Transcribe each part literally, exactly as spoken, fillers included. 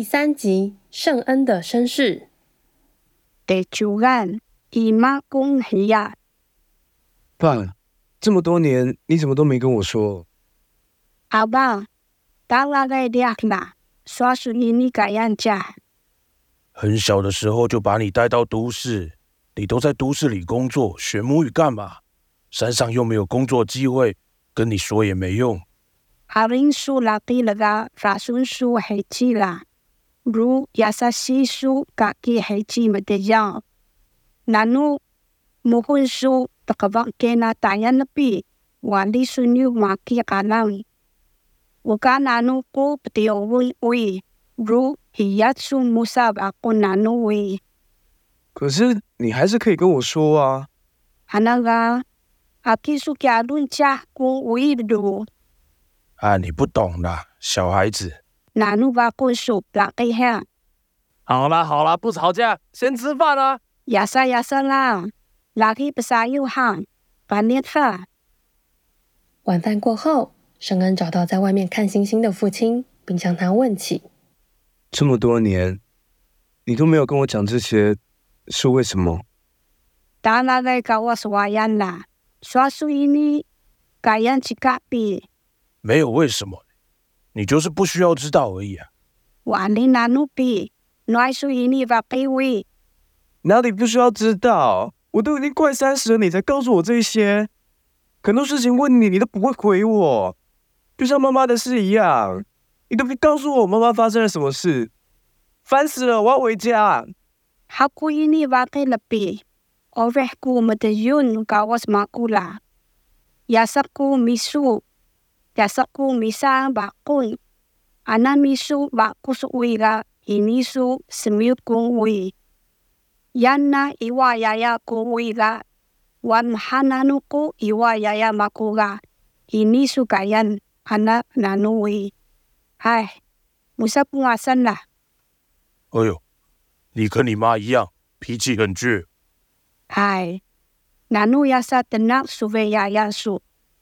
三集聖恩的身世。 第九案，姨媽公黑呀。 爸，這麼多年你怎麼都沒跟我說？ 阿爸，打那個獵啦，說是你個樣家。 很小的時候就把你帶到都市，你都在都市裡工作學母語幹嘛？山上又沒有工作機會，跟你說也沒用。 阿林蘇拉蒂了個發sun蘇黑雞啦，如亞薩西蘇嘎基黑雞沒得樣，那努木混蘇的個房間那大人那邊，瓦里蘇牛馬基卡浪，我幹那努古不得問問，如伊亞蘇穆薩巴古那努問。 可是你還是可以跟我說啊。 阿那個阿基蘇加倫家公問路。 啊，你不懂啦，小孩子。 那努巴公說拉給下。 好啦好啦，不吵架，先吃飯啦。 亞薩亞薩啦，拉給不撒有行，把你他。 晚飯過後，聖恩找到在外面看星星的父親，並向他問起： 這麼多年，你都沒有跟我講這些，是為什麼？ 打那個搞我是瓦樣啦，說屬於你，改樣去改變。 沒有為什麼，你就是不需要知道而已啊。 瓦里那努比，乃屬於你把卑微。 哪裡不需要知道？我都已經快三十了，你才告訴我這些。很多事情問你，你都不會回我，就像媽媽的事一樣，你都不告訴我媽媽發生了什麼事，煩死了！我要回家。 好故意你把給了比，我為顧沒得用搞我什麼顧啦，亞薩顧秘書。亞薩顧秘書把顧，阿那秘書把顧是為個，伊秘書是沒有顧為。亞那伊瓦亞亞顧為個，我們哈那努顧伊瓦亞亞馬顧個，伊秘書個人阿那那努為。唉，穆薩不阿森啦。 哎呦，你跟你媽一樣，脾氣很倔。 唉，那努亞薩的那蘇維亞亞蘇。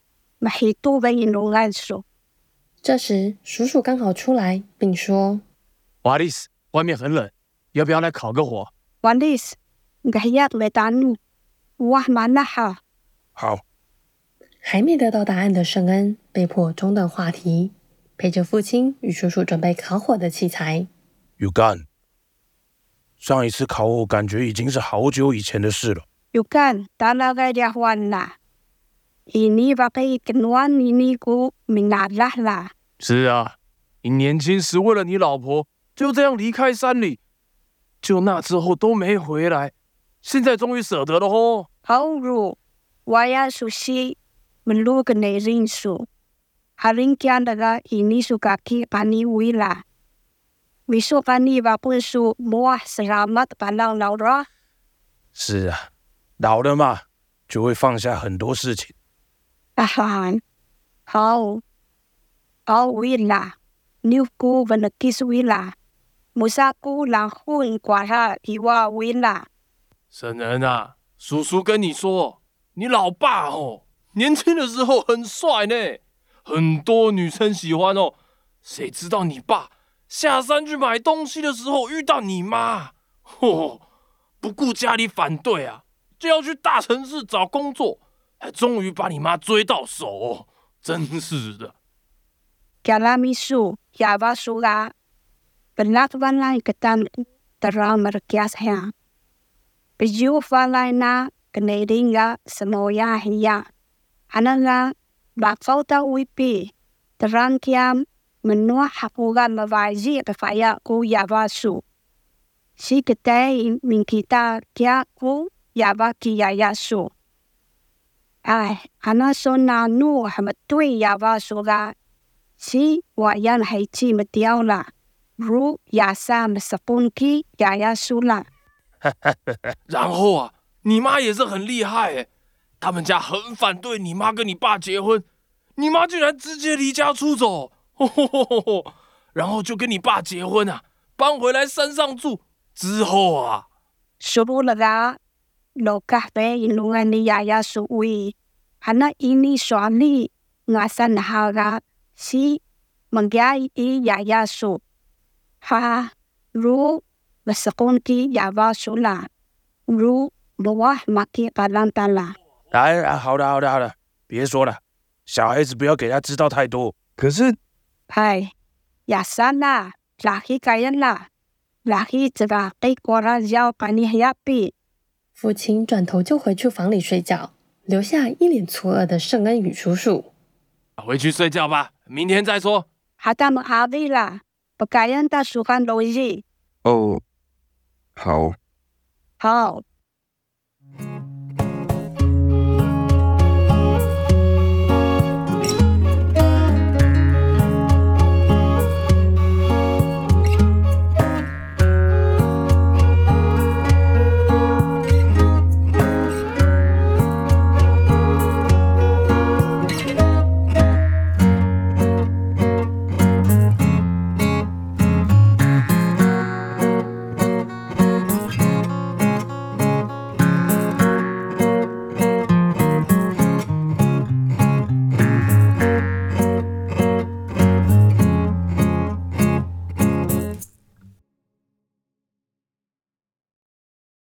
這時，叔叔剛好出來，並說：“ 瓦利斯，外面很冷，要不要來烤個火？” 瓦利斯，我要沒打怒，我蠻那好。 好。 還沒得到答案的聖恩被迫中斷話題，陪着父親與叔叔準備烤火的器材。 有幹。上一次烤火感覺已經是好久以前的事了。 有幹，打那個電話啦。ini pakai kenuan ini ku mengalah lah。 是啊，你年輕時為了你老婆就這樣離開山裡，就那之後都沒回來，現在終於捨得了吼。 好如我要熟悉門路的內人數，還能講那個ini suka ki pani wi lah。為什麼你把本書摸selamat pandang老了？ 是啊，老了嘛，就會放下很多事情。 啊哈，好，好為啦，牛姑問的技術為啦，穆薩姑讓混掛下伊話為啦。 聖恩啊，叔叔跟你說，你老爸哦，年輕的時候很帥呢，很多女生喜歡哦。誰知道你爸下山去買東西的時候遇到你媽，哦，不顧家裡反對啊，就要去大城市找工作。還終於把你媽追到手，哦，真是的。 Kalau misu ya basura, benak walai ketan teram merkias hang. Biju walai na kenedinga semoya hiya. Ananga bakau ta wipi terang kiam menua hapuga mawaji kefaya ku ya basu. Si ketai min kita kia ku ya baki ya yasu. 哎，阿那說那努還沒對呀吧說個，是我人還記沒掉了，如亞薩沒十分基亞亞輸了。 然後啊，你媽也是很厲害誒，他們家很反對你媽跟你爸結婚，你媽居然直接離家出走，呵呵呵呵，然後就跟你爸結婚啊，搬回來山上住。之後啊， 輸了個。Lokah pe ilungan ni yaya suwi. Hana ini suami ngasan haga si mengyai i yaya su. 哈，如不是公鸡哑巴输啦，如不哇马基巴兰达啦。 来啊，好的好的好的，別說了，小孩子不要給他知道太多。 可是， 哎，亞山啦，拉希蓋人啦，拉希只把給過來要把你嚇斃。 父親轉頭就回去房裡睡覺，留下一臉錯愕的聖恩與叔叔。 回去睡覺吧，明天再說。 哈達們哈利啦，不該人的書看邏輯。 哦，好。 好。